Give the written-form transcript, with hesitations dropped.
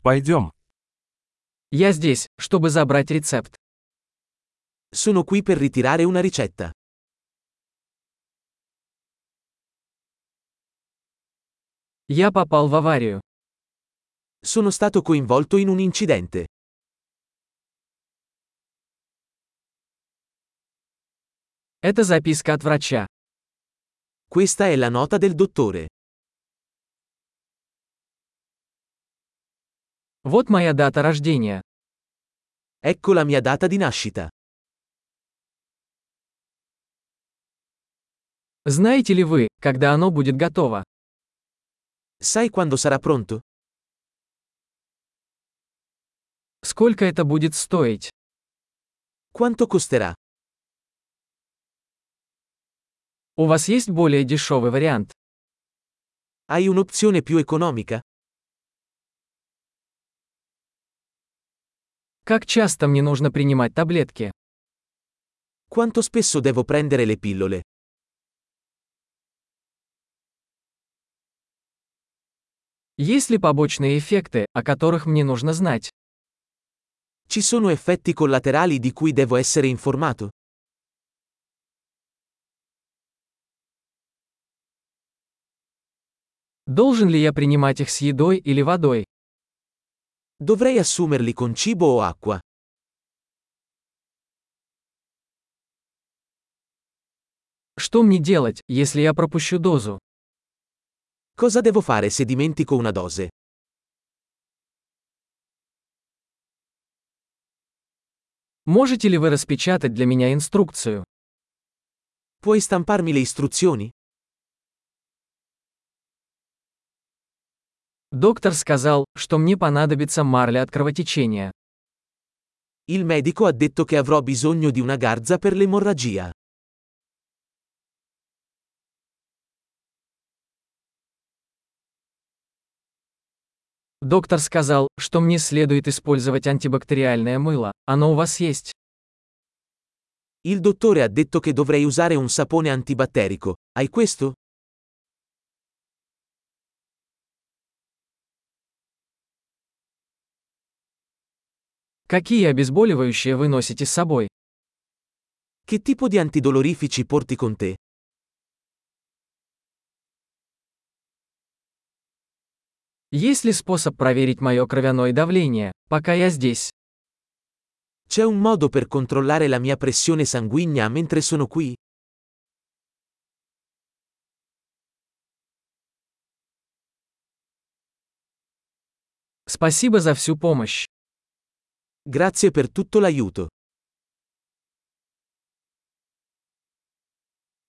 Пойдем. Я здесь, чтобы забрать рецепт. Sono qui per ritirare una ricetta. Я попал в аварию. Sono stato coinvolto in un incidente. Это записка от врача. Questa è la nota del dottore. Вот моя дата рождения. Ecco la mia data di nascita. Знаете ли вы, когда оно будет готово? Sai quando sarà pronto? Сколько это будет стоить? Quanto costerà? У вас есть более дешевый вариант? Hai un'opzione più economica? Как часто мне нужно принимать таблетки? Quanto spesso devo prendere le pillole? Есть ли побочные эффекты, о которых мне нужно знать? Ci sono effetti collaterali di cui devo essere informato? Должен ли я принимать их с едой или водой? Dovrei assumerli con cibo o acqua? Что мне делать, если я пропущу дозу? Cosa devo fare se dimentico una dose? Можете ли вы распечатать для меня инструкцию? Puoi stamparmi le istruzioni? Доктор сказал, что мне понадобится марля от кровотечения. Il medico ha detto che avrò bisogno di una garza per l'emorragia. Доктор сказал, что мне следует использовать антибактериальное мыло. Оно у вас есть? Il dottore ha detto che dovrei usare un sapone antibatterico. Hai questo? Какие обезболивающие вы носите с собой? Che tipo di antidolorifici porti con te? Есть ли способ проверить мое кровяное давление, пока я здесь? C'è un modo per controllare la mia pressione sanguigna mentre sono qui? Спасибо за всю помощь. Grazie per tutto l'aiuto.